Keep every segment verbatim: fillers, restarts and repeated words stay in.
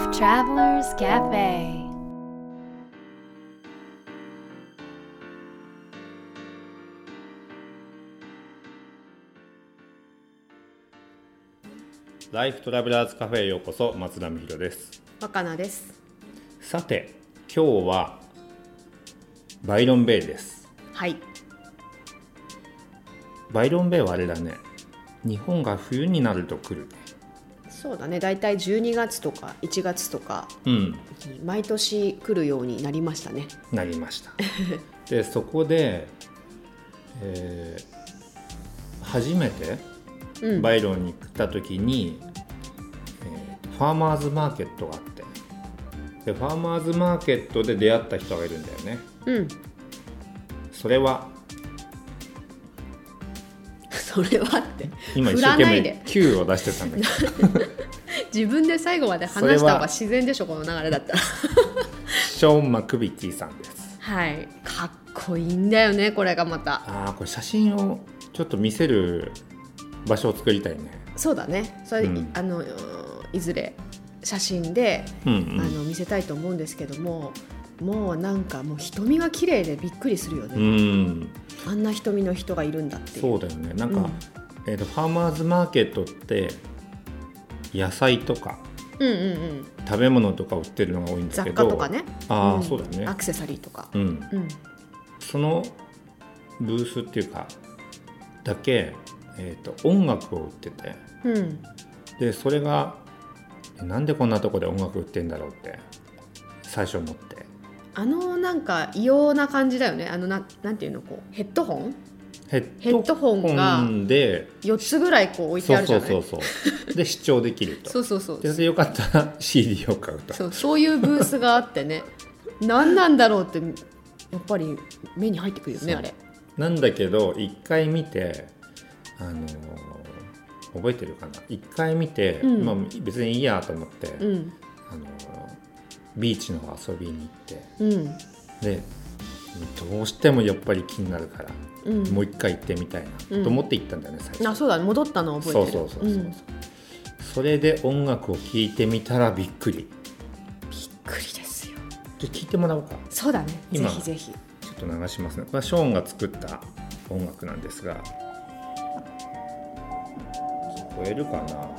Travelers Cafe。 ライフトラベラーズカフェへようこそ。松田美弘です。 若菜です。 さて今日はバイロンベイです。 はい。 バイロンベイはあれだね、日本が冬になると来る。 そうだね、だいたいじゅうにがつとかいちがつとか、 うん、 毎年来るようになりましたね。 なりましたでそこで、えー、初めてバイロンに来た時に、うんえー、ファーマーズマーケットがあって、でファーマーズマーケットで出会った人がいるんだよね。 うん。 それはそれはって今一生懸命 Q を出してたんだけど自分で最後まで話した方が自然でしょ、この流れだったらショーン・マクビティさんです。 はい、かっこいいんだよね、これがまた。 あ、これ写真をちょっと見せる場所を作りたいね。 そうだね、それ、うん、あのいずれ写真で、うんうん、あの見せたいと思うんですけども、もうなんかもう瞳が綺麗でびっくりするよね。うん、あんな瞳の人がいるんだっていう。 そうだよね。なんか、うんえーと、ファーマーズマーケットって野菜とか、うんうんうん、食べ物とか売ってるのが多いんだけど、 雑貨とかね、 あ、うん、そうだね、 アクセサリーとか、 うんうん、そのブースっていうかだけ、えーと、音楽を売ってて、うん、でそれがなんでこんなとこで音楽売ってんだろうって最初思って、 あのなんか異様な感じだよね。あの な, なんていうのこうヘッドホンヘッドホンがよっつぐらいこう置いてあるじゃない。 そうそうそうそうで視聴できるとそうそうそうでよかったら シーディー を買うと。 そう、そういうブースがあってね何なんだろうってやっぱり目に入ってくるよね。あれなんだけど一回見て、あのー、覚えてるかな、一回見て、うんまあ、別にいいやと思って、うんあのー、ビーチの遊びに行って、うん、でどうしてもやっぱり気になるから、うん、もう一回行ってみたいなと思って行ったんだよね、最初。 あ、そうだね、戻ったのを覚えてる。 そうそうそうそう、うん、それで音楽を聴いてみたらびっくりびっくりですよ。 で聴いてもらおうか。 そうだね、ぜひぜひ。 ちょっと流しますね。これはショーンが作った音楽なんですが、聞こえるかな。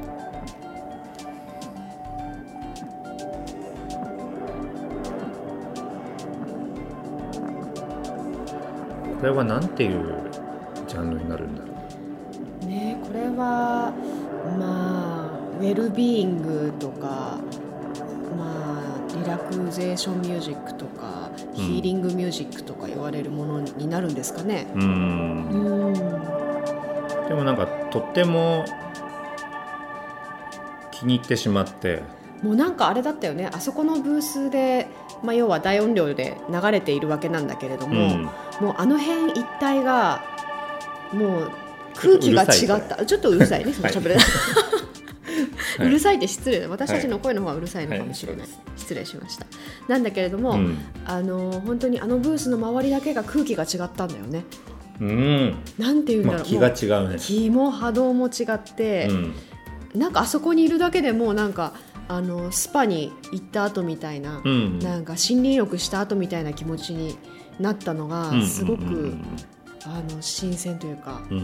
これはなんていうジャンルになるんだろうね。これはまあウェルビーイングとか、まあリラクゼーションミュージックとか、うん、ヒーリングミュージックとか言われるものになるんですかね。うーんうーんでもなんかとっても気に入ってしまって、 もうなんかあれだったよね、あそこのブースで、まあ、要は大音量で流れているわけなんだけれども、うん、もうあの辺一帯がもう空気が違った。ちょっとうるさいね、そのしゃべれうるさいって失礼だ、私たちの声の方がうるさいのかもしれない、はいはい、失礼しました。なんだけれども、うん、あの本当にあのブースの周りだけが空気が違ったんだよね。うん、なんていうんだろう、まあ、 気が違うね。 気も波動も違って、うん、なんかあそこにいるだけでもなんかあのスパに行った後みたいな、うん、なんか森林浴した後みたいな気持ちになったのがすごく、うんうんうんうん、あの新鮮というか、うんうん、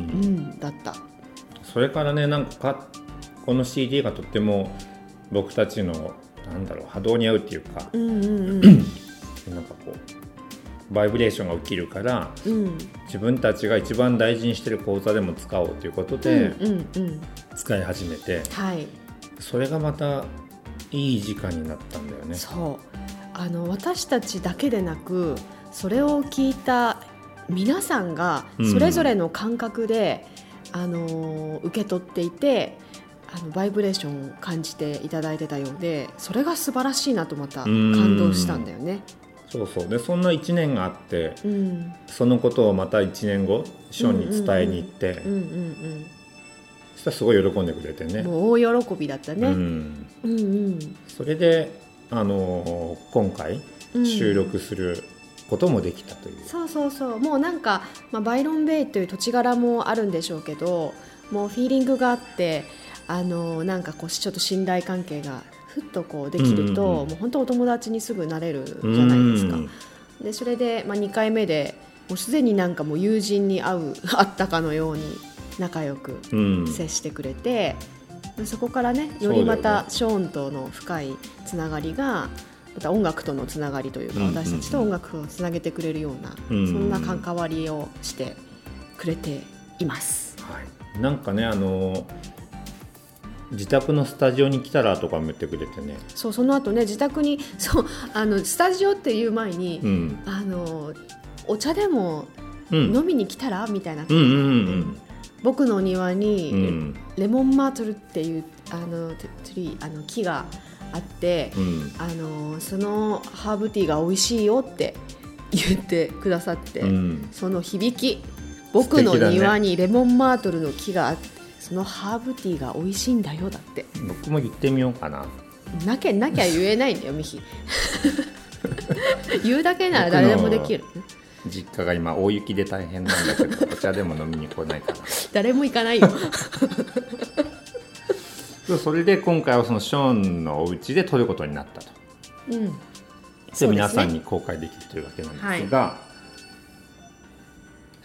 だった。 それからね、なんかこの シーディー がとっても僕たちのなんだろう波動に合うっていうか、うんうんうん、なんかこうバイブレーションが起きるから、うん、自分たちが一番大事にしてる講座でも使おうということで、うんうんうん、使い始めて、はい、それがまたいい時間になったんだよね。 そうあの私たちだけでなく、それを聞いた皆さんがそれぞれの感覚で、うん、あの受け取っていて、あのバイブレーションを感じていただいてたようで、それが素晴らしいなとまた感動したんだよね。 そうそう。でそんないちねんがあって、うん、そのことをまたいちねんごショーンに伝えに行って、そしたらすごい喜んでくれてね。 もう大喜びだったね。うんうんうん、 それであの今回収録することもできたという、うん、 そうそうそう。もうなんか、まあ、バイロンベイという土地柄もあるんでしょうけど、もうフィーリングがあって、あのなんかこうちょっと信頼関係がふっとこうできると、うんうんうん、もう本当お友達にすぐなれるじゃないですか。でそれで、まあ、にかいめでもうすでになんかもう友人に会う会ったかのように仲良く接してくれて、うん、そこからねよりまたショーンとの深いつながりがまた音楽とのつながりというか、うんうんうん、私たちと音楽をつなげてくれるような、うんうん、そんな関わりをしてくれています、 はい、なんかねあの自宅のスタジオに来たらとかも言ってくれてね。 そうその後ね自宅にそうあのスタジオっていう前に、うん、あのお茶でも飲みに来たら、うん、みたいな、うんうんうん、僕の庭に、うん、レモンマートルっていうあのツリーあの木があって、うん、あのそのハーブティーが美味しいよって言ってくださって、うん、その響き僕の庭にレモンマートルの木があってそのハーブティーが美味しいんだよだって僕も言ってみようかな。 なきゃなきゃ言えないんだよミヒ言うだけなら誰でもできる。 実家が今大雪で大変なんだけどお茶でも飲みに来ないかな誰も行かないよそれで今回はそのショーンのお家で撮ることになったと、うん、で皆さんに公開できるというわけなんですが、はい、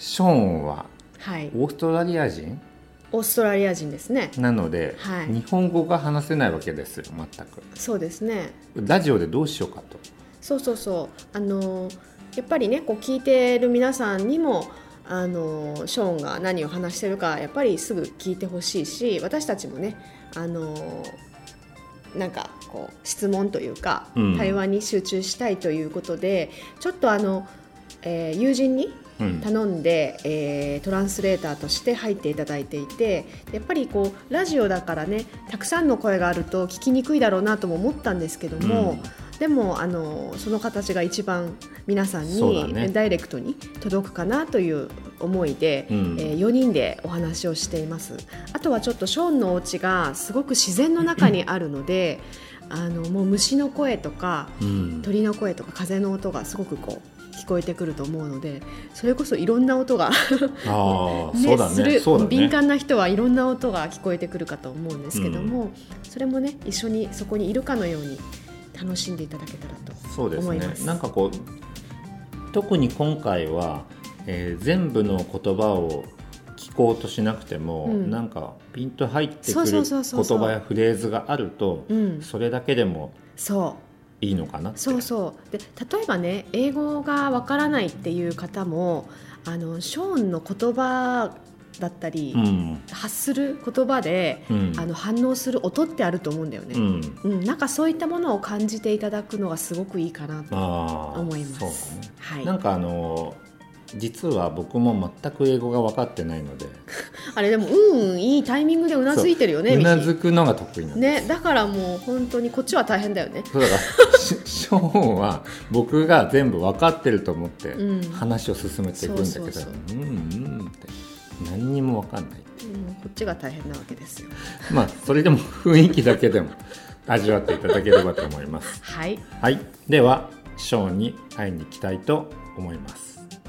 ショーンはオーストラリア人、はい、 オーストラリア人ですね。 なので、はい、日本語が話せないわけですよ全く。 そうですね。 ラジオでどうしようかと。 そうそうそうあのやっぱりねこう聞いてる皆さんにもあのショーンが何を話してるかやっぱりすぐ聞いてほしいし私たちもねあのなんかこう質問というか、うん、対話に集中したいということでちょっとあの、えー、友人に頼んで、うんえー、トランスレーターとして入っていただいていてやっぱりこうラジオだからねたくさんの声があると聞きにくいだろうなとも思ったんですけども、うんでもあのその形が一番皆さんに、ね、ダイレクトに届くかなという思いで、うんえー、よにんでお話をしています。あとはちょっとショーンのお家がすごく自然の中にあるのであのもう虫の声とか、うん、鳥の声とか風の音がすごくこう聞こえてくると思うのでそれこそいろんな音があ、ね、そうだね、するそうだね、 敏感な人はいろんな音が聞こえてくるかと思うんですけども、うん、それもね一緒にそこにいるかのように楽しんでいただけたらと思います。そうですね。 なんかこう特に今回は、えー、全部の言葉を聞こうとしなくても、うん、なんかピンと入ってくる言葉やフレーズがあると、うん、それだけでもいいのかなって。 そうそうで例えばね英語がわからないっていう方もあのショーンの言葉だったり、うん、発する言葉で、うん、あの反応する音ってあると思うんだよね、うんうん、なんかそういったものを感じていただくのがすごくいいかなと思います。そうね、はい、 なんかあの実は僕も全く英語が分かってないのであれでもうんうんいいタイミングでうなずいてるよね。 うなずくのが得意なんです、 ね、だからもう本当にこっちは大変だよね。 そうだからショーンは僕が全部分かってると思って話を進めていくんだけどうんうんって何にも分かんない、 うん、こっちが大変なわけですよまあそれでも雰囲気だけでも味わっていただければと思いますはい、 はい、ではショーンに会いに行きたいと思います。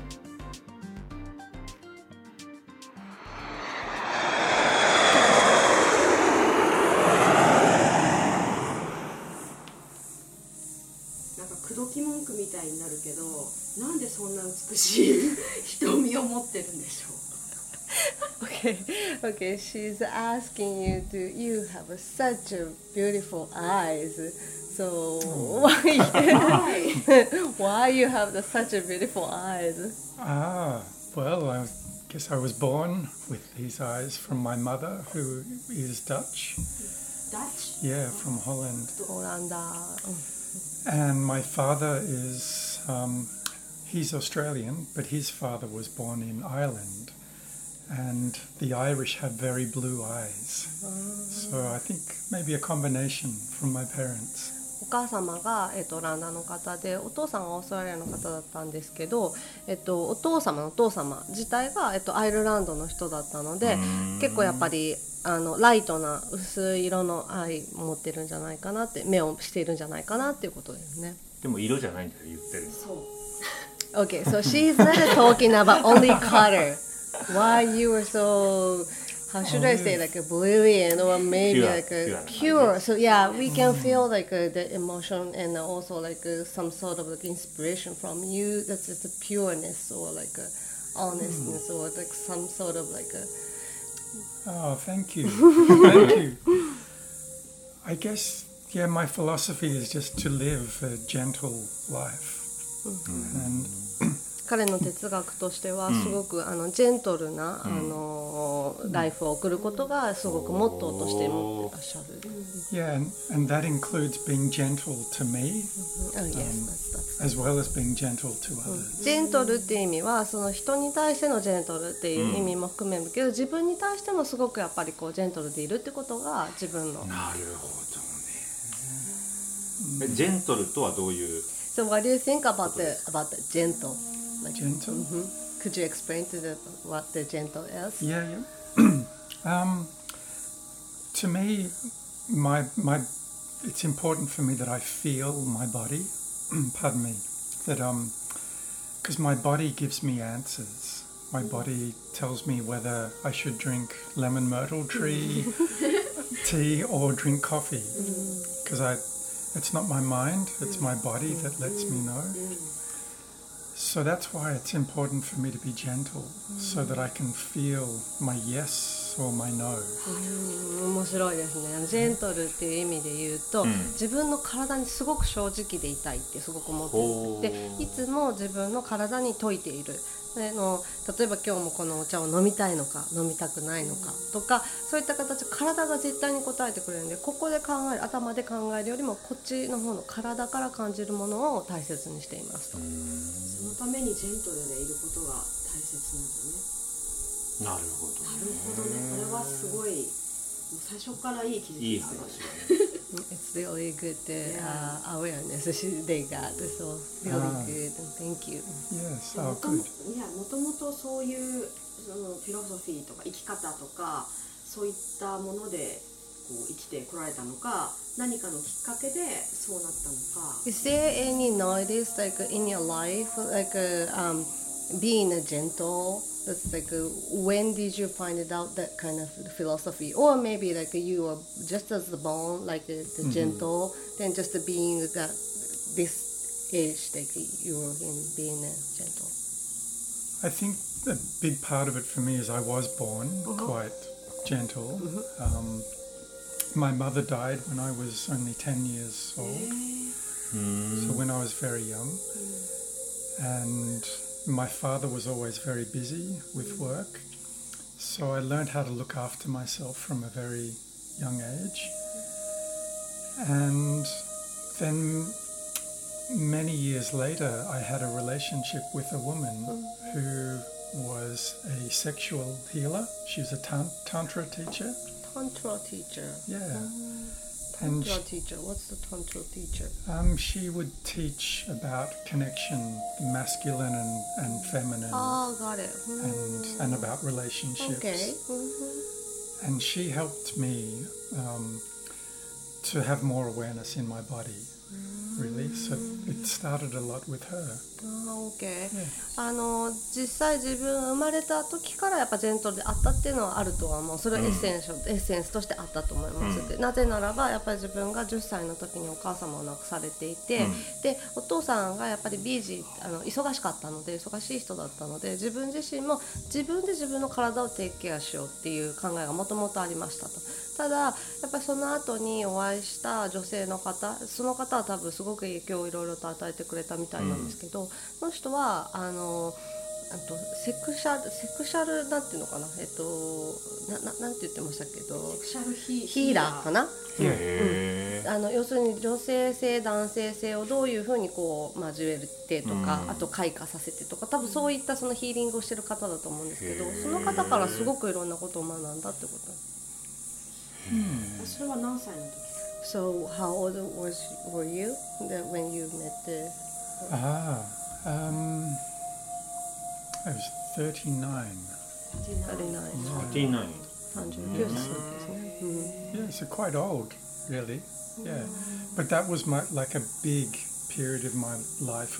なんか口説き文句みたいになるけどなんでそんな美しい瞳を持ってるんでしょう Okay, okay. She's asking you, do you have such a beautiful eyes? So why, why you have the, such a beautiful eyes? Ah, well, I guess I was born with these eyes from my mother, who is Dutch. Dutch? Yeah, from Holland. Hollanda. And my father is, um, he's Australian, but his father was born in Ireland.And the Irish have very blue eyes. So I think maybe a combination from my parents. お母様が、えっと、オランダの方でお父さんがオーストラリアの方だったんですけど、えっと、お父様のお父様自体が、えっと、アイルランドの人だったので結構やっぱりあのライトな薄い色の愛を持ってるんじゃないかなって目をしているんじゃないかなっていうことですね。 でも色じゃないんだよ言ってる。 そう。Okay, so she's not talking about only color.Why you were so, how should I say, like a brilliant or maybe Pure, like a pure. pure. So yeah, we can feel like uh, the emotion and also like uh, some sort of like inspiration from you. That's just a pureness or like a honestness or like some sort of like a. Oh, thank you. Thank you. I guess, yeah, my philosophy is just to live a gentle life. And 彼の哲学としてはすごくあのジェントルなあのライフを送ることがすごくモットーとして持ってらっしゃる。 yeah, and, and that includes being gentle to me Oh, yes, that's- that's- as well as being gentle to others. ジェントルっていう意味はその人に対してのジェントルっていう意味も含めるけど、自分に対してもすごくやっぱりこうジェントルでいるってことが自分の。 なるほどね。ジェントルとはどういう So what do you think about the about the gentle? Like, Gentle? Mhm. Could you explain to the what the gentle is? Yeah, yeah. um, to me, my my, it's important for me that I feel my body. Pardon me. That um, because my body gives me answers. My body tells me whether I should drink lemon myrtle tree tea or drink coffee. Because I, it's not my mind. It's my body that lets me know. So that's why it's important for me to be gentle, so that I can feel my yes or my no. うん面白いですね。ジェントルっていう意味で言うと、 うん自分の体にすごく正直でいたいってすごく思ってほうる。で、いつも自分の体に説いている。での例えば今日もこのお茶を飲みたいのか飲みたくないのかとか、そういった形体が絶対に答えてくれるんで、ここで考える頭で考えるよりもこっちの方の体から感じるものを大切にしていますと。 そのためにジェントルでいることが大切なんだね。 なるほどなるほどね。これはすごい、もう最初からいい気づきいいですよ話ね。 だね。 It's really good uh, awareness they got. So really Ah. good. Thank you. Yes, も oh とも good. いやもともとそういうそのフィロソフィーとか生き方とかそういったものでこう生きてこられたのか、何かのきっかけでそうなったのか。 Is there any notice like in your life, like uh, um, being a gentle? That's like uh, when did you find it out that kind of philosophy, or maybe like you were just as born like uh, the gentle, then just the being that this age like you were in being a gentle. I think a big part of it for me is I was born quite gentle. Um, my mother died when I was only ten years old, so when I was very young. And my father was always very busy with work, so I learned how to look after myself from a very young age. And then many years later, I had a relationship with a woman who was a sexual healer. She was a tan- tantra teacher. Tantra teacher. Yeah. And Tantra she, teacher. What's the tantra teacher? um, she would teach about connection, the masculine and, and feminine, Oh, got it. and, and about relationships. Okay. Mhm. And she helped me um, to have more awareness in my body, really. So it started a lot with her. あー OK、 Yeah. あの実際自分が生まれた時からやっぱジェントルであったっていうのはあるとは思う。それはエッセンシャル、エッセンスとしてあったと思います、でなぜならばやっぱり自分がじゅっさいの時にお母様を亡くされていて、でお父さんがやっぱりビージーあの忙しかったので忙しい人だったので、自分自身も自分で自分の体をテイクケアしようっていう考えがもともとありましたと。ただやっぱりその後にお会いした女性の方、その方は多分すごく影響をいろいろと与えてくれたみたいなんですけど、その人はあのあとセクシャルセクシャルなんていうのかな、えっとなななんて言ってましたけど、 セクシャルヒヒーラーかな。 へーあの要するに女性性男性性をどういうふうにこう交えてとか、 うんあと開花させてとか、多分そういったそのヒーリングをしてる方だと思うんですけど、その方からすごくいろんなことを学んだってことなんです。 それは何歳の時ですか？ So how old was were you that when you met the Ah, um, I was thirty-nine. thirty-nine? サーティーナイン。 さんじゅうきゅうさいですね。うん Yeah, so quite old, really. Yeah, but that was my like a big period of my life of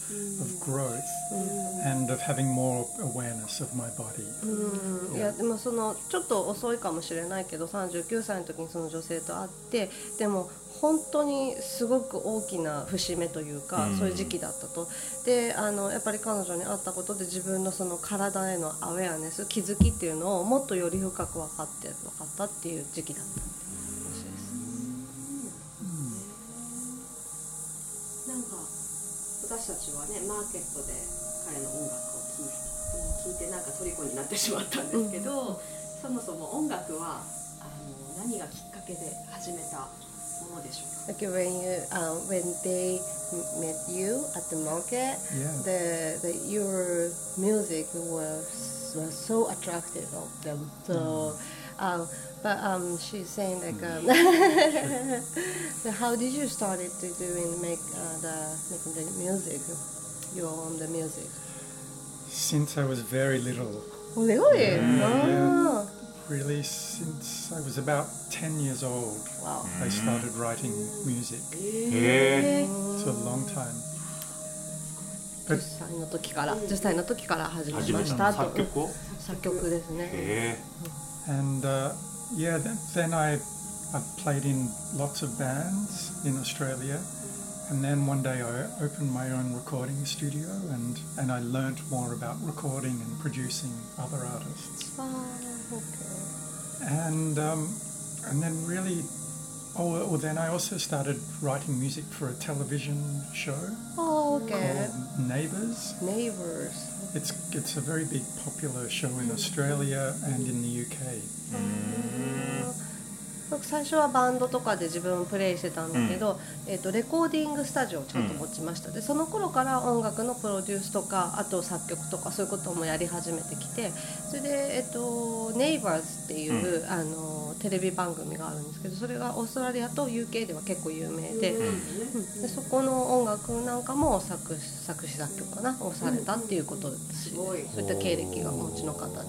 of growth and of having more awareness of my body. うん、いやでもそのちょっと遅いかもしれないけどさんじゅうきゅうさいの時にその女性と会ってでも本当にすごく大きな節目というか、うん、そういう時期だったと。であのやっぱり彼女に会ったことで自分のその体へのアウェアネス気づきっていうのをもっとより深く分かって分かったっていう時期だったらしいです、 うん、なんか私たちはねマーケットで彼の音楽を聴いて、聞いてなんか虜になってしまったんですけど、うん、そもそも音楽はあの何がきっかけで始めたものでしょうか。 Like when you, uh, when they met you at the market, yeah. the, the your music was was so attractive of them. So, mm. um, but um, she's saying like, um, so how did you started to doing make uh, the making the music, your own the music? Since I was very little. Really? Yeah, oh. yeah. Really, since I was about ten years old, wow. I started writing music. Yeah. It's a long time. じゅっさいの時から、じゅっさいの時から始めましたと。 作曲を？ 作曲ですね。 And uh, yeah, then, then I I played in lots of bands in Australia, and then one day I opened my own recording studio, and and I learnt more about recording and producing other artists. Okay. And um, and then really, oh, well, then I also started writing music for a television show oh, okay. called Neighbours. Neighbours. It's it's a very big popular show in Australia and in the U K. 僕最初はバンドとかで自分プレイしてたんだけど、うん、えー、とレコーディングスタジオをちゃんと持ちました、うん、でその頃から音楽のプロデュースとかあと作曲とかそういうこともやり始めてきてそれで、えー、とネイバーズっていう、うん、あのテレビ番組があるんですけどそれがオーストラリアと ユーケー では結構有名で、うんうん、でそこの音楽なんかも作詞作詞作曲かなをされたっていうことですごいそういった経歴がお持ちの方です。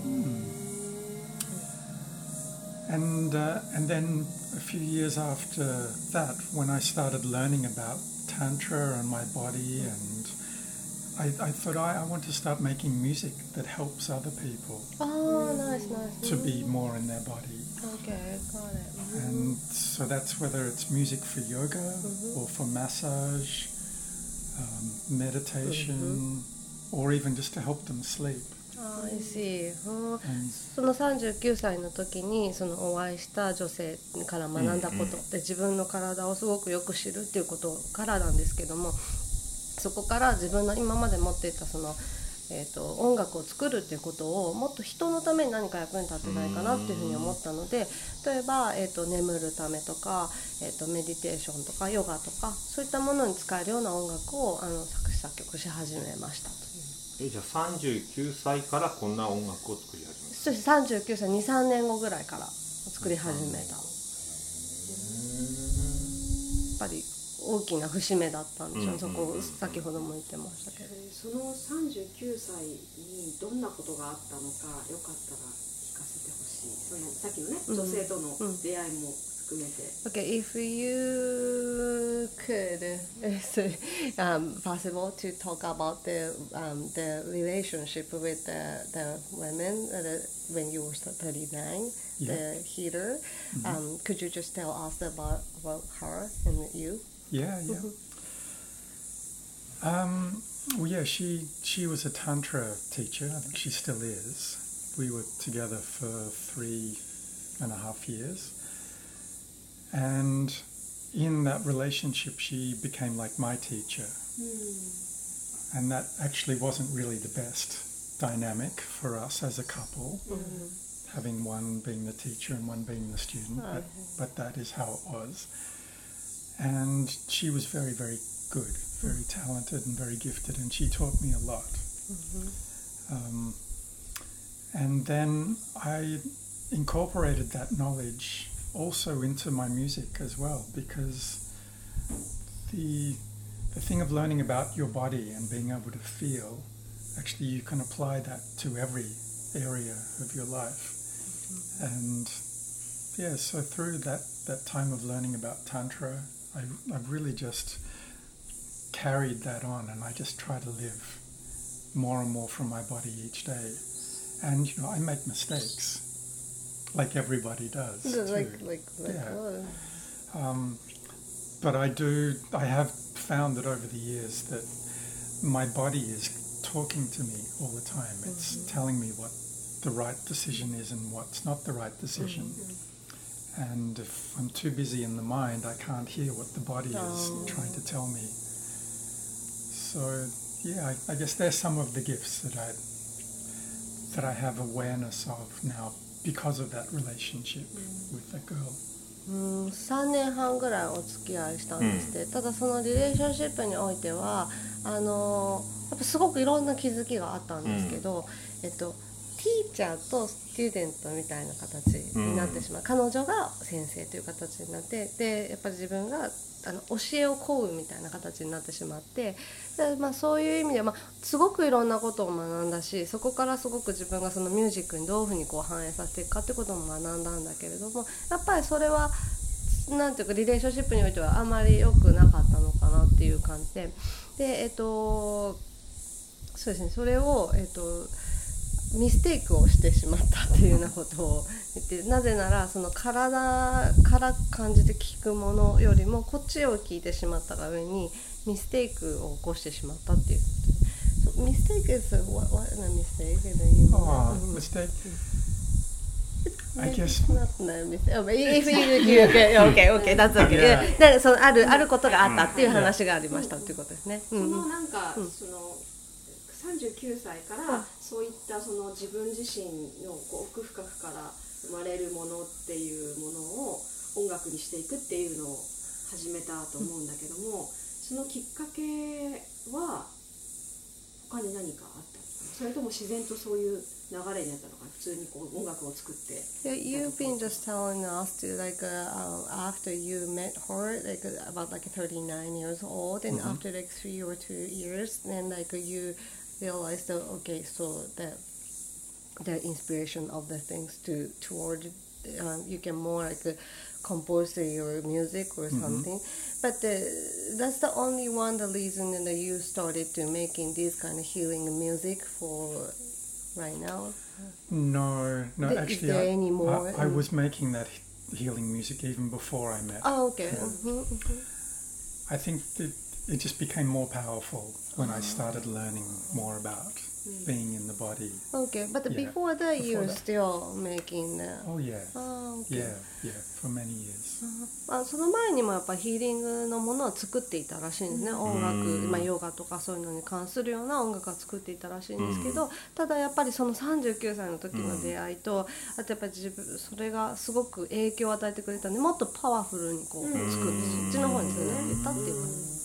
And uh, and then a few years after that, when I started learning about Tantra and my body, and I, I thought I, I want to start making music that helps other people oh, nice, nice. to be more in their body. Okay, got it. Mm-hmm. And so that's whether it's music for yoga mm-hmm. or for massage, um, meditation, mm-hmm. or even just to help them sleep. I see. そのさんじゅうきゅうさいの時にそのお会いした女性から学んだことで自分の体をすごくよく知るっていうことからなんですけどもそこから自分の今まで持っていたその、えーと、音楽を作るっていうことをもっと人のために何か役に立てないかなっていうふうに思ったので例えば、えーと、眠るためとか、えーと、メディテーションとかヨガとかそういったものに使えるような音楽をあの作詞作曲し始めましたという。 えじゃあさんじゅうきゅうさいからこんな音楽を作り始めた。 そうですさんじゅうきゅうさい にさんねんごぐらいから作り始めた。やっぱり大きな節目だったんでしょう、うん、そこ先ほども言ってましたけど、 えー、そのさんじゅうきゅうさいにどんなことがあったのかよかったら聞かせてほしい。そのさっきのね、うん、女性との出会いも含めて。 Okay, if you could, it's um, possible to talk about the um, the relationship with the the women uh, the, when you were thirty-nine, yeah. the healer. Mm-hmm. Um, could you just tell us about about her and you? Yeah, yeah. um, well, yeah, she she was a tantra teacher. I think she still is. We were together for three and a half years. And in that relationship, she became like my teacher. Mm. And that actually wasn't really the best dynamic for us as a couple, mm-hmm. having one being the teacher and one being the student, oh, but, okay. but that is how it was. And she was very, very good, very mm-hmm. talented and very gifted, and she taught me a lot. Mm-hmm. Um, and then I incorporated that knowledge also into my music as well, because the the thing of learning about your body and being able to feel, actually you can apply that to every area of your life. Mm-hmm. And yeah, so through that, that time of learning about Tantra, I, I've really just carried that on, and I just try to live more and more from my body each day. And you know, I make mistakes, like everybody does. like too. like like Yeah. what? Um, but I do. I have found that over the years that my body is talking to me all the time. It's mm-hmm. telling me what the right decision is and what's not the right decision. Mm-hmm. And if I'm too busy in the mind, I can't hear what the body oh. is trying to tell me. So yeah, I, I guess there's some of the gifts that I that I have awareness of now because of that relationship mm. with that girl. うん、さんねんはんぐらいお付き合いしたんですって、うん、ただそのリレーションシップにおいてはあのやっぱすごくいろんな気づきがあったんですけど、うん、えっとティーチャーとスチューデントみたいな形になってしまう、うん、彼女が先生という形になって、でやっぱり自分があの教えを請うみたいな形になってしまって、で、まあ、そういう意味では、まあ、すごくいろんなことを学んだし、そこからすごく自分がそのミュージックにどういうふうにこう反映させていくかってことも学んだんだけれども、やっぱりそれはなんていうかリレーションシップにおいてはあまり良くなかったのかなっていう感じで、でえっとそうですね、それをえっとミステイクをしてしまったっていうようなことを言って、なぜならその体から感じて聞くものよりもこっちを聞いてしまったが上にミステイクを起こしてしまったっていうことで、ミステイク is what what a mistake oh mistake I guess not a mistake if you okay okay okay that's okay でそのあるあることがあったっていう話がありましたっていうことですね。 そのなんかそのさんじゅうきゅうさいからそういったその自分自身のこう奥深くから生まれるものっていうものを音楽にしていくっていうのを始めたと思うんだけども、そのきっかけは他に何かあったのかな、それとも自然とそういう流れになったのかな、普通にこう音楽を作って。 Yeah, you've been just telling us to like uh, after you met her like about like thirty-nine years old and mm-hmm. after like three or two years then like you realized that okay so that the inspiration of the things to toward um, you can more like uh, compose your music or something mm-hmm. but uh, that's the only one the reason that you started to making this kind of healing music for right now. No no Is actually there I, any more? I, I was making that healing music even before I met. Oh okay. Yeah. Mm-hmm, mm-hmm. I think that it just became more powerful when I started learning more about mm. being in the body. Okay, but yeah, before that before you're that. still making uh, oh yeah oh, okay. yeah yeah for many years、 uh, あその前にもやっぱヒーリングのものを作っていたらしいんですね、音楽、まあ、ヨガとかそういうのに関するような音楽を作っていたらしいんですけど、ただやっぱりそのさんじゅうきゅうさいの時の出会いと、あとやっぱり自分それがすごく影響を与えてくれたんで、もっとパワフルにこう作ってそっちの方につなげていったっていう感じ。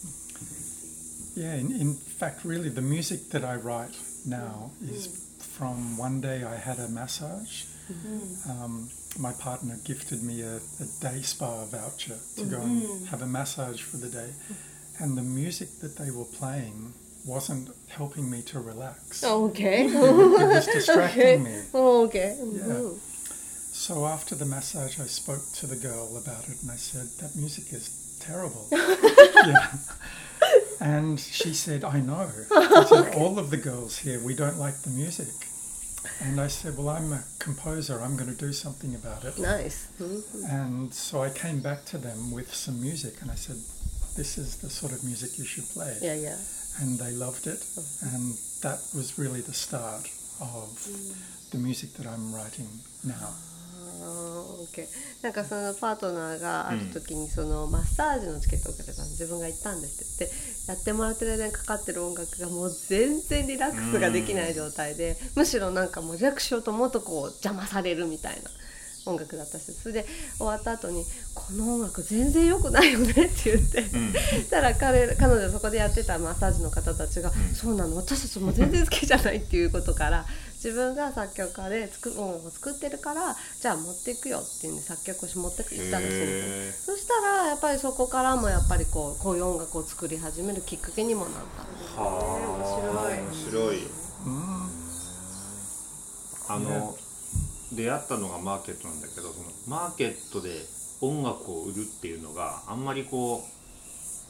Yeah, in, in fact, really, the music that I write now is from one day I had a massage. Um, my partner gifted me a, a day spa voucher to go and have a massage for the day. And the music that they were playing wasn't helping me to relax. Okay. It, it was distracting me. Okay. Yeah. So after the massage, I spoke to the girl about it and I said, that music is terrible. Yeah. And she said, I know. I said, all of the girls here, we don't like the music. And I said, well, I'm a composer. I'm going to do something about it. Nice. Mm-hmm. And so I came back to them with some music and I said, this is the sort of music you should play. Yeah, yeah. And they loved it. And that was really the start of mm. the music that I'm writing now. Okay. なんかそのパートナーがある時にそのマッサージのチケットをくれたんで自分が行ったんですって言ってやってもらってる間にかかってる音楽がもう全然リラックスができない状態で、むしろなんかもうリラックスしようと思うとこう邪魔されるみたいな音楽だったし、それで終わった後にこの音楽全然良くないよねって言って、うん、たら彼彼女そこでやってたマッサージの方たちが、うん、そうなの私たちも全然好きじゃないっていうことから自分が作曲家で作音楽を作ってるからじゃあ持っていくよっていうんで作曲をし持っていったんですよ。そしたらやっぱりそこからもやっぱりこうこういう音楽を作り始めるきっかけにもなったんですね。 はあ、面白い。面白い。うん、あの出会ったのがマーケットなんだけど、そのマーケットで音楽を売るっていうのがあんまりこう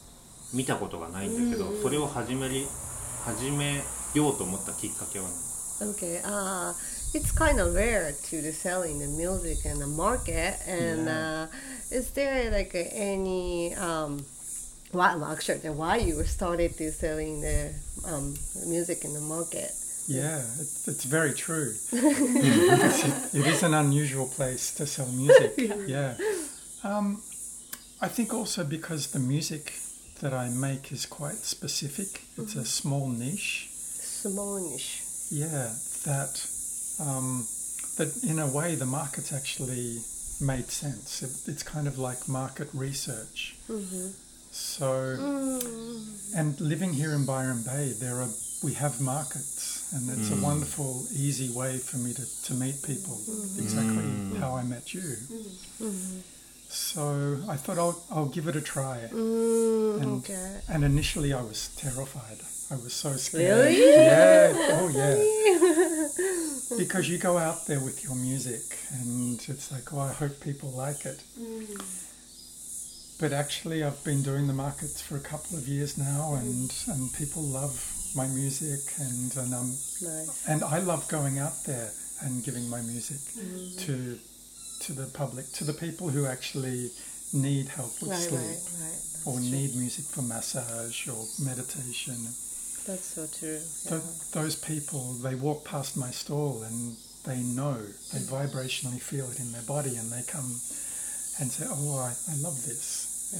見たことがないんだけど、それを始めり始めようと思ったきっかけは何？ Okay, uh, it's kind of rare to the selling the music in the market, and Yeah. uh, is there like uh, any um, why well, actually then why you started to selling the um, music in the market? Yeah, it's, it's very true. It's, it is an unusual place to sell music. Yeah. Um, I think also because the music that I make is quite specific. It's a small niche. Small niche. Yeah, that um, that in a way the market's actually made sense. It, it's kind of like market research. So, and living here in Byron Bay, there are we have markets, and it's a wonderful, easy way for me to, to meet people. Exactly how I met you. So I thought I'll I'll give it a try. Mm, And, okay. and initially I was terrified. I was so scared. Really? Yeah. Oh, yeah. Because you go out there with your music and it's like, oh, I hope people like it. But actually I've been doing the markets for a couple of years now, and, and people love my music, and and, um, Nice. and I love going out there and giving my music to to the public, to the people who actually need help with Right, sleep. right, right. That's Or true. need music for massage or meditation. That's so true. Th- those people, they walk past my stall and they know, they vibrationally feel it in their body, and they come and say, oh, I, I love this.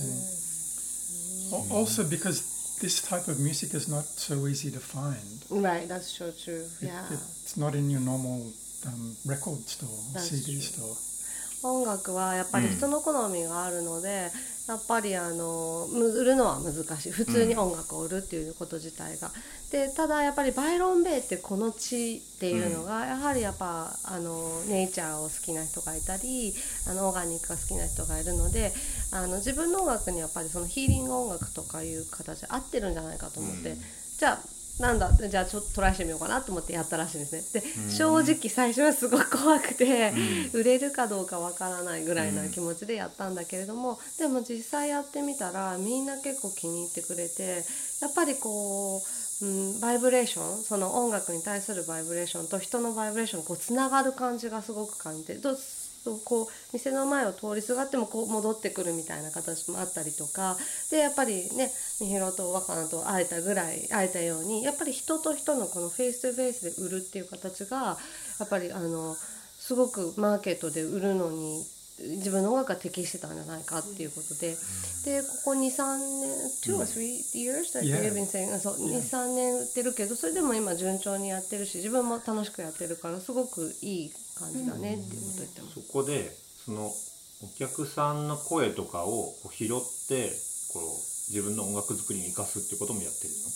And al- also because this type of music is not so easy to find. Right, that's so true. It- Yeah. it's not in your normal um, record store, That's C D true. store. 音楽はやっぱり人の好みがあるので、やっぱりあのむ売るのは難しい。普通に音楽を売るっていうこと自体が、でただやっぱりバイロンベイってこの地っていうのが、やはりやっぱあのネイチャーを好きな人がいたり、あのオーガニックが好きな人がいるので、あの自分の音楽にやっぱりそのヒーリング音楽とかいう形で合ってるんじゃないかと思って、じゃあなんだじゃあちょっとトライしてみようかなと思ってやったらしいんですね。で正直最初はすごく怖くて、売れるかどうかわからないぐらいな気持ちでやったんだけれども、でも実際やってみたらみんな結構気に入ってくれて、やっぱりこう、うん、バイブレーション、その音楽に対するバイブレーションと人のバイブレーションがこうつながる感じがすごく感じて、どうこう店の前を通りすがってもこう戻ってくるみたいな形もあったりとかで、やっぱりねみひろと若菜と会えたぐらい会えたように、やっぱり人と人のこのフェイストゥフェイスで売るっていう形がやっぱりあのすごくマーケットで売るのに自分の音楽が適してたんじゃないかっていうことで、でここ にさんねん two or three years that Yeah. you've been saying、そう にさんねん売ってるけど、それでも今順調にやってるし自分も楽しくやってるからすごくいい感じだねっていうこと言ってます。 そこでそのお客さんの声とかをこう拾ってこう自分の音楽作りに生かすってこともやってるの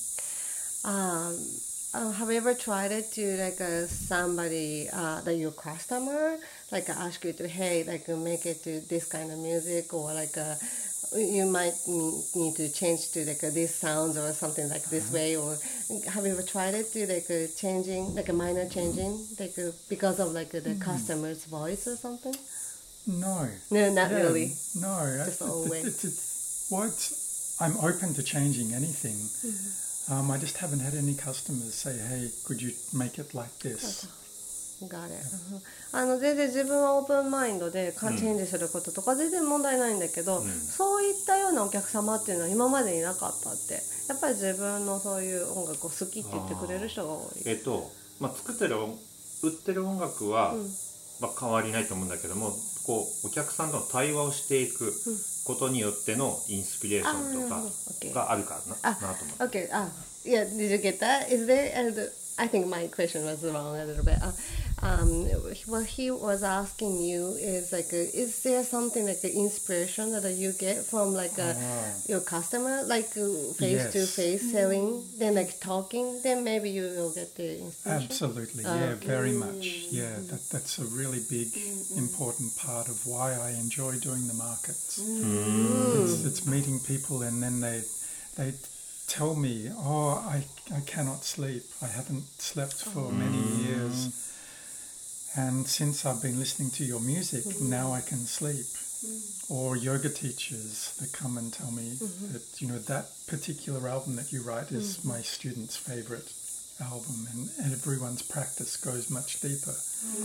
Um, uh, have you ever tried it to like uh, somebody uh, that your customer like uh, ask you to hey like uh, make it to this kind of music, or like uh, you might ne- need to change to like uh, this sounds or something like this way, or have you ever tried it to like uh, changing like a minor changing like uh, because of like uh, the customer's voice or something? No. No, not Yeah, really. No. Just it- all it- way. it's, it's, well, it's, I'm open to changing anything. Um, I just haven't had any customers say, hey, could you make it like this? Got it. あの全然自分はオープンマインドでチェンジすることとか全然問題ないんだけど、そういったようなお客様っていうのは今までいなかったって、やっぱり自分のそういう音楽を好きって言ってくれる人が多い。 えっと、まあ、作ってる音売ってる音楽は、まあ、変わりないと思うんだけども、こうお客さんとの対話をしていくことによってのインスピレーションとかがあるからな、なと思う。 Okay. Ah, yeah. Did you get that? Is there? And I think my question was wrong a little bit. Uh, um, what he was asking you is like, uh, is there something like the inspiration that you get from like uh, your customer, like uh, face to Yes. face selling, then like talking, then maybe you will get the inspiration. Absolutely, yeah, very much. Yeah, that, that's a really big, important part of why I enjoy doing the markets. It's, it's meeting people, and then they they tell me, oh, I, I cannot sleep. I haven't slept for many years. And since I've been listening to your music, now I can sleep. or yoga teachers that come and tell me Mm-hmm. that, you know, that particular album that you write is mm-hmm. my student's favorite album, and, and everyone's practice goes much deeper.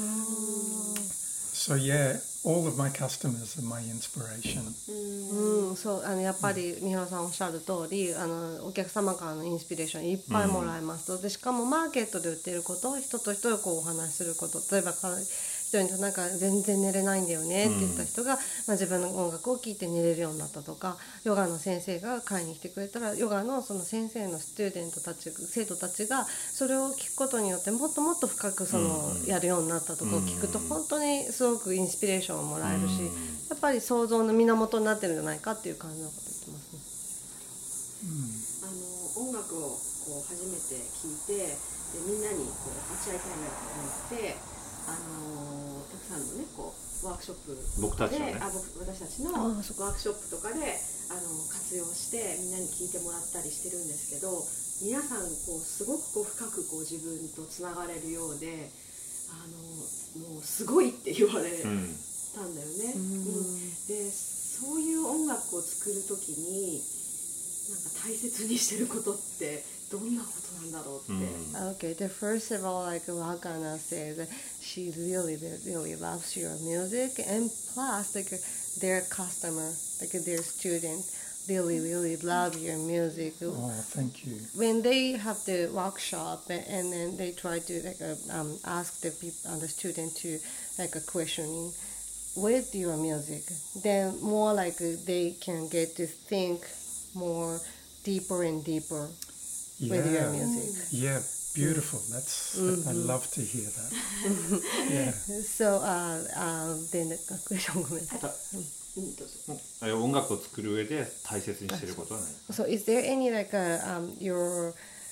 Mm. So yeah, all of my customers are my inspiration. うん、そうあのやっぱり三原さんおっしゃる通り、あのお客様からのインスピレーションいっぱいもらえますと、でしかもマーケットで売っていることを人と人とこうお話しすること、例えば一人となんか全然寝れないんだよねって言った人が、まあ、自分の音楽を聴いて寝れるようになったとか、ヨガの先生が買いに来てくれたらヨガのその先生のスチューデントたち生徒たちがそれを聞くことによってもっともっと深くそのやるようになったとかを聞くと本当にすごくインスピレーションをもらえるし、やっぱり想像の源になってるんじゃないかっていう感じのこと言ってますね。 あの音楽をこう初めて聴いて、でみんなにこう立ち会いたいなと思って、あのたくさんのねこうワークショップで僕たちのねあ僕私たちのワークショップとかであの活用してみんなに聴いてもらったりしてるんですけど、皆さんこうすごくこう深くこう自分とつながれるようで、あのもうすごいって言われたんだよね。うんうん、でそういう音楽を作るときになんか大切にしてることってどんなことなんだろうって。 Okay, the first of all, like Wakana says, that she really, really loves your music, and plus, like their customer, like their student, really, really love your music. Oh, thank you. When they have the workshop and then they try to like uh, um, ask the people, uh, the student to like a questioning with your music, then more like they can get to think more deeper and deeper yeah. with your music. Yeah, beautiful. That's mm-hmm. I love to hear that. Yeah. So, uh, uh, then the question ごめんなさい。 音楽を作る上で大切にしてることはない。 So, is there any like a, um, your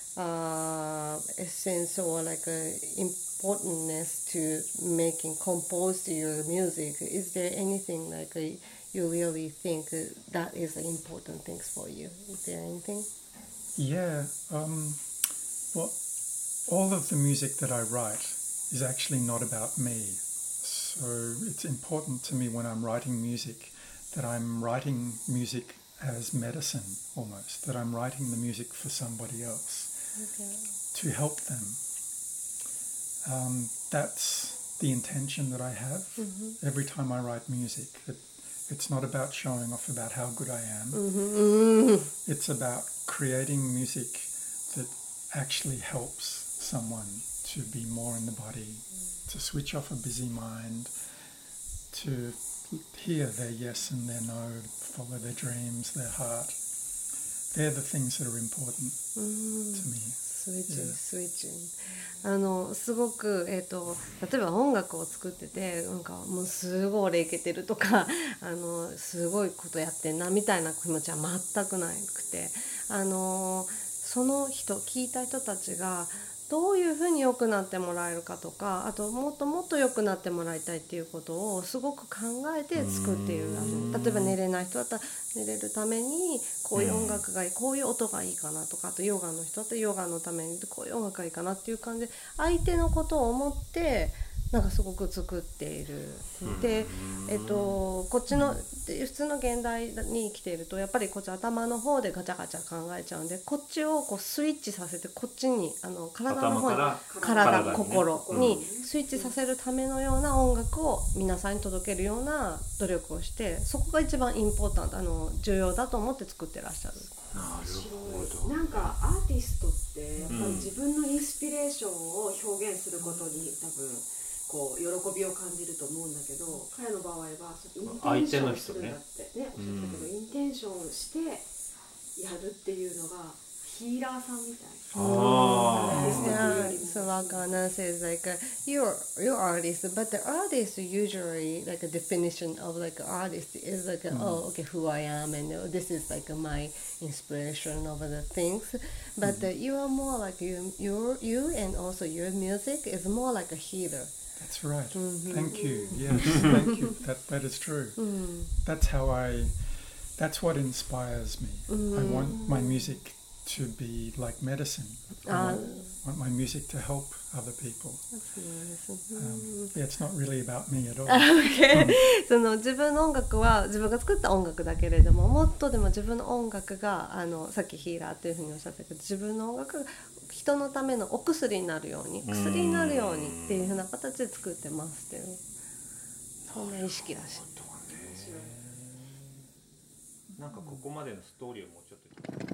uh, essence or like a importance to making compose your music? Is there anything like a, you really think that is an important thing for you? Is there anything? Yeah. Um, well, all of the music that I write is actually not about me. So it's important to me when I'm writing music that I'm writing music as medicine almost, that I'm writing the music for somebody else Okay. to help them. Um, that's the intention that I have mm-hmm. every time I write music. It, it's not about showing off about how good I am. Mm-hmm. It's about creating music that actually helps someone to be more in the body, mm. to switch off a busy mind, to hear their yes and their no, follow their dreams, their heart. They're the things that are important mm. to me. スイッチ、yeah. スイッチ。あのすごく、えーと、例えば音楽を作っててなんかもうすごい俺イケてるとかあのすごいことやってんなみたいな気持ちは全くなくて、あのその人聞いた人たちがどういうふうに良くなってもらえるかとか、あともっともっと良くなってもらいたいっていうことをすごく考えて作っているらしい。例えば寝れない人だったら寝れるためにこういう音楽がいい、こういう音がいいかなとか、あとヨガの人だったらヨガのためにこういう音楽がいいかなっていう感じで相手のことを思ってなんかすごく作っている。で、えっと、こっちの普通の現代に生きているとやっぱりこっち頭の方でガチャガチャ考えちゃうんで、こっちをこうスイッチさせてこっちにあの体の方に体、体心にスイッチさせるためのような音楽を皆さんに届けるような努力をして、そこが一番インポータント、あの重要だと思って作ってらっしゃる。 なるほど。 なんかアーティストってやっぱり自分のインスピレーションを表現することに多分こう喜びを感じると思うんだけど、彼の場合はインテンションするんだってね、おっしゃったけど、インテンションしてやるっていうのがヒーラーさんみたい。 Yeah, so Wakana says like uh, you're you're artist, but the artist usually like a definition of like an artist is like a, mm. oh okay who I am and uh, this is like uh, my inspiration of the things, but mm. uh, you are more like you you you and also your music is more like a healer. That's right. Mm-hmm. Thank you. Yes, thank you. That that is true. Mm. That's how I. That's what inspires me. Mm-hmm. I want my music to be like medicine. I want, want my music to help other people. Um, yeah, it's not really about me at all. Okay. その自分の音楽は自分が作った音楽だけれども、もっとでも自分の音楽があのさっきヒーラーっていうふうにおっしゃったけど、自分の音楽が人のためのお薬になるように、薬になるようにっていうふうな形で作ってますっていう、そんな意識らしい。 なんかここまでのストーリーをもうちょっと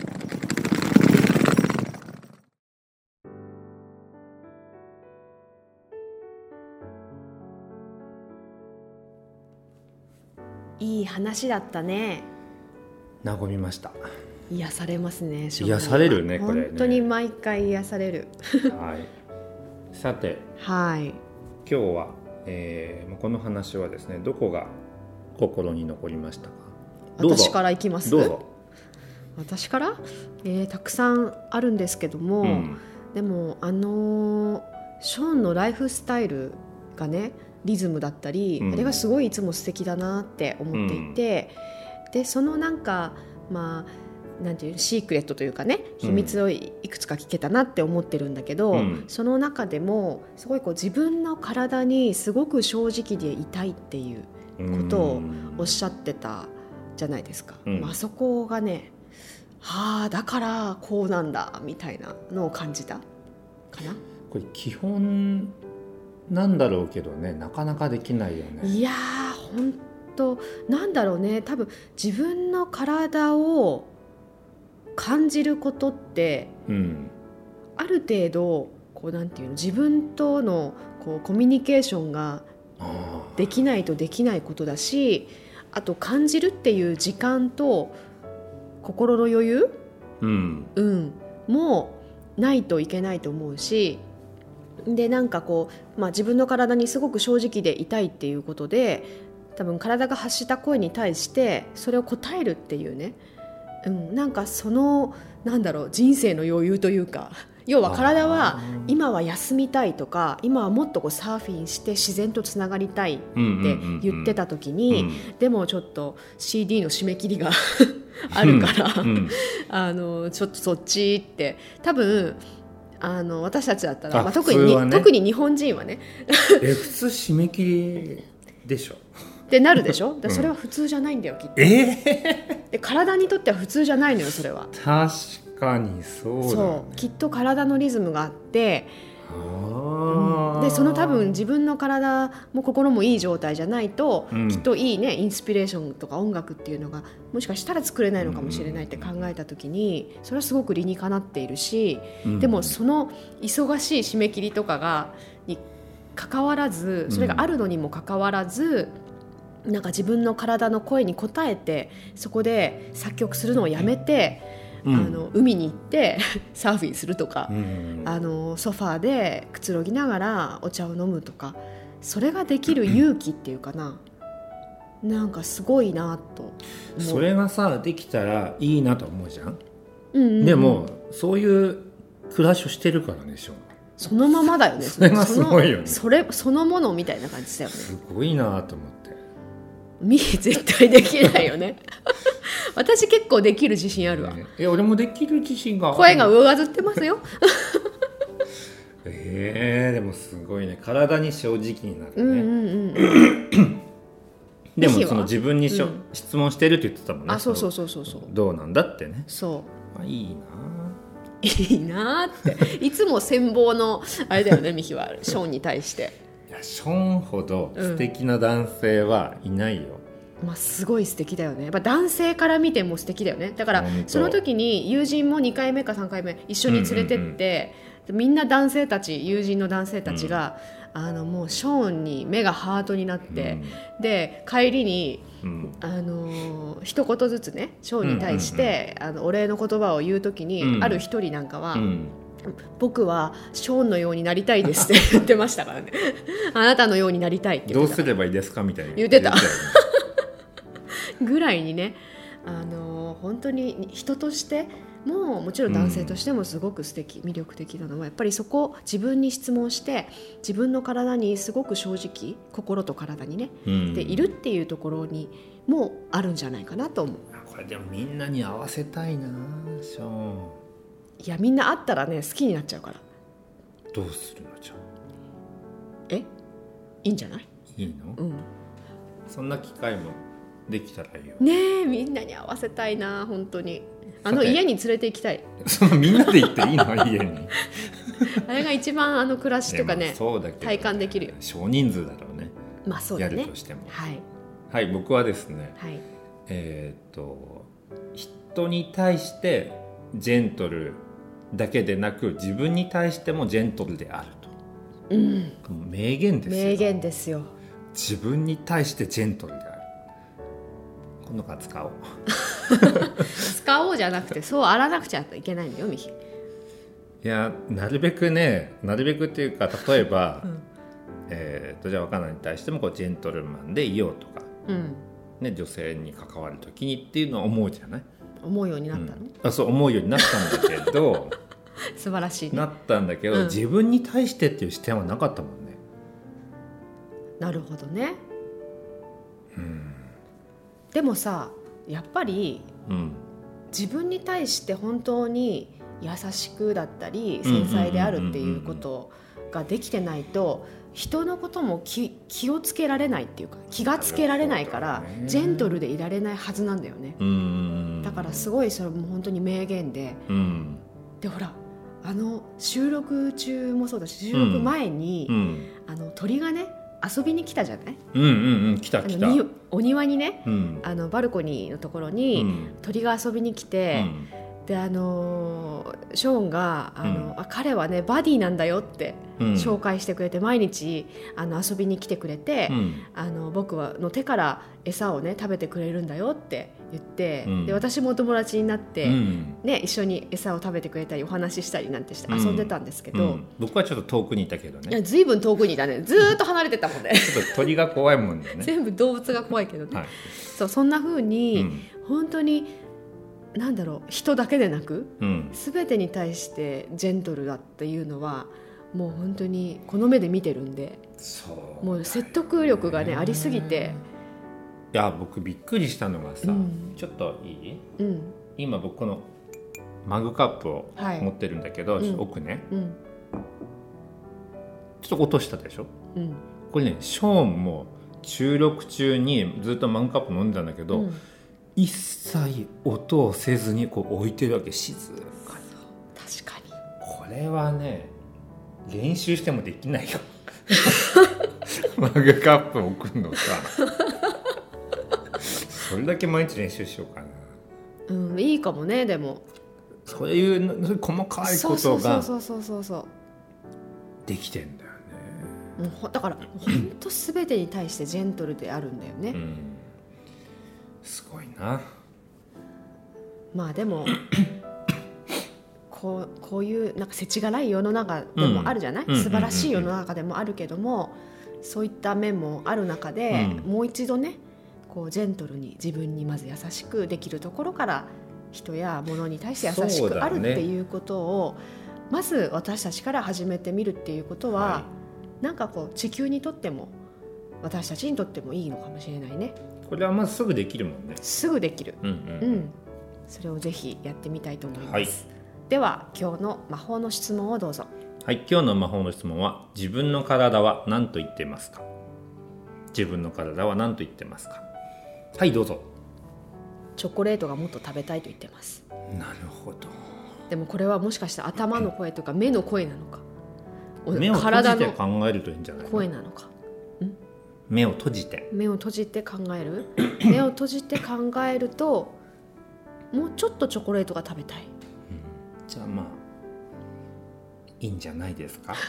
いい話だったね。 和みました。 癒されますね。 癒されるねこれね。 本当に毎回癒される。 はい。さて、 はい。 今日は、えー、この話はですね、どこが心に残りましたか。どうぞ。 私からいきます。 どうぞ。 私から、えー、たくさんあるんですけども、うん、でもあのー、ショーンのライフスタイルがね、リズムだったり、うん、あれがすごいいつも素敵だなって思っていて、うん、でそのなんかまあなんていうシークレットというかね、秘密をいくつか聞けたなって思ってるんだけど、うん、その中でもすごいこう自分の体にすごく正直でいたいっていうことをおっしゃってたじゃないですか、うん、あそこがね、はあだからこうなんだみたいなのを感じたかな。 これ基本なんだろうけどね、なかなかできないよね。 いやー本当なんだろうね、多分自分の体を感じることって、うん、ある程度こうなんていうの、自分とのこうコミュニケーションができないとできないことだし、あと感じるっていう時間と心の余裕、うんうん、もないといけないと思うし、でなんかこう、まあ、自分の体にすごく正直でいたいっていうことで、多分体が発した声に対してそれを答えるっていうね、うん、なんかそのなんだろう、人生の余裕というか、要は体は今は休みたいとか、今はもっとこうサーフィンして自然とつながりたいって言ってた時に、うんうんうんうん、でもちょっと シーディー の締め切りがあるから、うんうん、あのちょっとそっちって多分あの私たちだったら、まあ、特に、ね、特に日本人はねえ普通締め切りでしょってなるでしょ。だそれは普通じゃないんだよ、きっと。 えー、 で体にとっては普通じゃないのよ、それは。 確かにそうだ、ね、 そうきっと体のリズムがあって、あ、うん、でその多分自分の体も心もいい状態じゃないと、うん、きっといいねインスピレーションとか音楽っていうのがもしかしたら作れないのかもしれないって考えた時に、それはすごく理にかなっているし、うん、でもその忙しい締め切りとかがに関わらず、それがあるのにもかかわらず、うん、なんか自分の体の声に応えてそこで作曲するのをやめて、うん、あの海に行ってサーフィンするとか、うん、あのソファーでくつろぎながらお茶を飲むとか、それができる勇気っていうかな、なんかすごいなと思う。 それがさできたらいいなと思うじゃん、うんうんうん、でもそういう暮らしをしてるからね、しょそのままだよね。 それがすごいよね。 それそのものみたいな感じだよね。 すごいなと思って。 ミー絶対できないよね私結構できる自信あるわ、 ね、いや俺もできる自信がある。 声が上ずってますよえー、でもすごいね、体に正直になるね、うんうんうん、でもその自分にしょ、うん、質問してるって言ってたもんね。 あ、そうそうそうそうそう、 どうなんだってね。 そう、 まあ、いいないいなっていつも羨望のあれだよねミヒはショーンに対して。 いやショーンほど素敵な男性はいないよ、 うん、まあ、すごい素敵だよね。やっぱ男性から見ても素敵だよね。だからその時に友人もにかいめかさんかいめ一緒に連れてって、うんうんうん、みんな男性たち、友人の男性たちが、うん、あのもうショーンに目がハートになって、うん、で帰りに、うん、あの一言ずつねショーンに対して、うんうんうん、あのお礼の言葉を言う時に、うん、ある一人なんかは、うん、僕はショーンのようになりたいですって言ってましたからねあなたのようになりたいって言ってた。 どうすればいいですかみたいな言ってたぐらいにね、あの本当に人としてももちろん男性としてもすごく素敵、うん、魅力的なのはやっぱりそこ自分に質問して自分の体にすごく正直、心と体にね、うん、でいるっていうところにもあるんじゃないかなと思う。 これでもみんなに合わせたいなショーン。 いやみんな会ったらね好きになっちゃうから。 どうするのじゃあ。 えいいんじゃない。 いいの、 うん、 そんな機会もできたらいいよねえみんなに会わせたいな本当に。あの家に連れて行きたい。 そのみんなで行っていいの家にあれが一番あの暮らしとかね、 まあそうだけどね、 体感できるよ。 少人数だろうね。 まあそうだね。 やるとしても。 はいはい、僕はですね、 はい、 えーっと人に対してジェントルだけでなく自分に対してもジェントルであると、 うん、 名言ですよ。 名言ですよ。 自分に対してジェントルである。今度から使おう使おうじゃなくてそうあらなくちゃいけないんだよミヒ。 いやなるべくねなるべくっていうか例えば、うんえー、とじゃあ若菜に対してもこうジェントルマンでいようとか、 うんね、女性に関わる時にっていうのは思うじゃない。 思うようになったの、 うん、あそう思うようになったんだけど素晴らしい、ね、 なったんだけど、うん、自分に対してっていう視点はなかったもんね。 なるほどね、 うん、 でもさやっぱり、うん、自分に対して本当に優しくだったり繊細であるっていうことができてないと人のことも 気, 気をつけられないっていうか気がつけられないからジェントルでいられないはずなんだよね。うんだからすごいそれも本当に名言で、うん、でほらあの収録中もそうだし収録前に、うん、あの鳥がね遊びに来たじゃない。 うんうんうん来た来た。 お庭にね、 うん、 あのバルコニーのところに鳥が遊びに来て、うん、であのショーンがあの、うん、あ彼はねバディなんだよって紹介してくれて、うん、毎日あの遊びに来てくれて、うん、あの僕はの手から餌をね食べてくれるんだよって言って、うん、で私もお友達になって、うんね、一緒に餌を食べてくれたりお話ししたりなんてして遊んでたんですけど、うんうん、 僕はちょっと遠くにいたけどね。 いやずいぶん遠くにいたね。ずーっと離れてたもんねちょっと鳥が怖いもんね全部動物が怖いけどね、はい、そうそんな風に、うん、本当になんだろう人だけでなく、うん、全てに対してジェントルだっていうのはもう本当にこの目で見てるんで、そうもう説得力がねありすぎて。 いや僕びっくりしたのがさ、うん、ちょっといい、うん、今僕このマグカップを持ってるんだけど、はい、奥ね、うん、ちょっと落としたでしょ、うん、これねショーンも収録中にずっとマグカップ飲んでたんだけど、うん、一切音をせずにこう置いてるわけ。静かに。 確かにこれはね練習してもできないよマグカップ置くのさそれだけ毎日練習しようかな。 うんいいかもね。でもそういう細かいことがそうそうそうそうできてんだよね。もうだから本当すべてに対してジェントルであるんだよね、うん、 すごいな。 まあでもこう、こういうなんか世知辛い世の中でもあるじゃない、うん、素晴らしい世の中でもあるけども、そういった面もある中で、うん、もう一度ねこうジェントルに自分にまず優しくできるところから人や物に対して優しくあるっていうことを、ね、まず私たちから始めてみるっていうことは、はい、なんかこう地球にとっても私たちにとってもいいのかもしれないね。 これはまずすぐできるもんね。 すぐできる、うんうんうん、それをぜひやってみたいと思います、はい、では今日の魔法の質問をどうぞ。 はい、今日の魔法の質問は自分の体は何と言ってますか。自分の体は何と言ってますか。はいどうぞ。 チョコレートがもっと食べたいと言ってます。 なるほど。 でもこれはもしかしたら頭の声とか目の声なのか、 目を閉じて考えるといいんじゃないの。 声なのか。ん目を閉じて目を閉じて考える目を閉じて考えるともうちょっとチョコレートが食べたい、うん、 じゃあまあいいんじゃないですか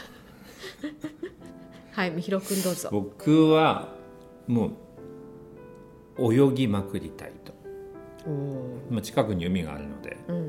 はい、みひろくんどうぞ。 僕はもう泳ぎまくりたいと。今近くに海があるので、うん、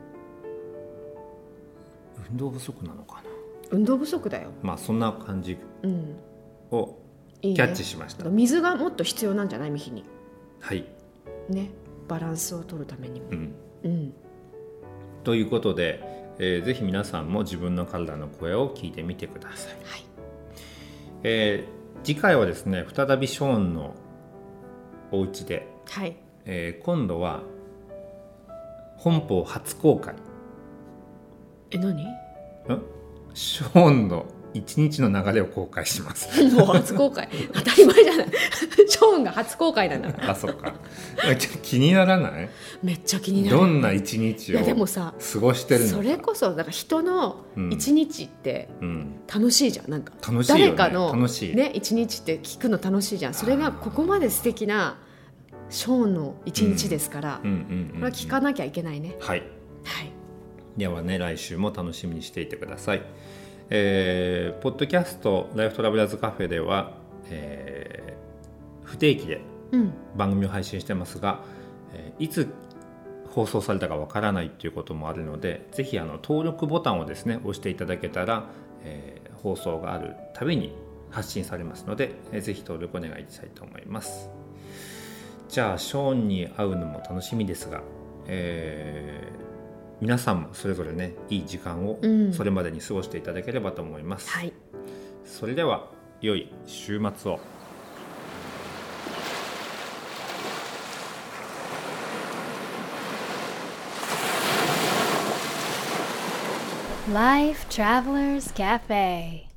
運動不足なのかな。 運動不足だよ。 まあそんな感じをキャッチしました、 うん、いいね。水がもっと必要なんじゃないみひに。 はいね、バランスを取るためにも、うんうん、ということで、えー、ぜひ皆さんも自分の体の声を聞いてみてください、はい。えー、次回はですね再びショーンのお家で、はい、えー、今度は本邦初公開え、何？ んショーンの一日の流れを公開しますもう初公開当たり前じゃないショーンが初公開なんだからあ、そうか気にならない？ めっちゃ気になる。 どんな一日をいやでもさ過ごしてるのか。 それこそだから人の一日って楽しいじゃん、なんか楽しいよね、 誰かの楽しいね一日って聞くの楽しいじゃん。それがここまで素敵なショーンの一日ですから、これは聞かなきゃいけないね。 はい、 はい、 ではね、来週も楽しみにしていてください。えー、ポッドキャストライフトラベラーズカフェでは、えー、不定期で番組を配信してますが、うんえー、いつ放送されたかわからないということもあるので、ぜひあの登録ボタンをですね押していただけたら、えー、放送があるたびに発信されますので、えー、ぜひ登録お願いしたいと思います。じゃあショーンに会うのも楽しみですが、えー皆さんもそれぞれね、いい時間をそれまでに過ごしていただければと思います、うん、はい、それでは良い週末を。 Life Travelers Cafe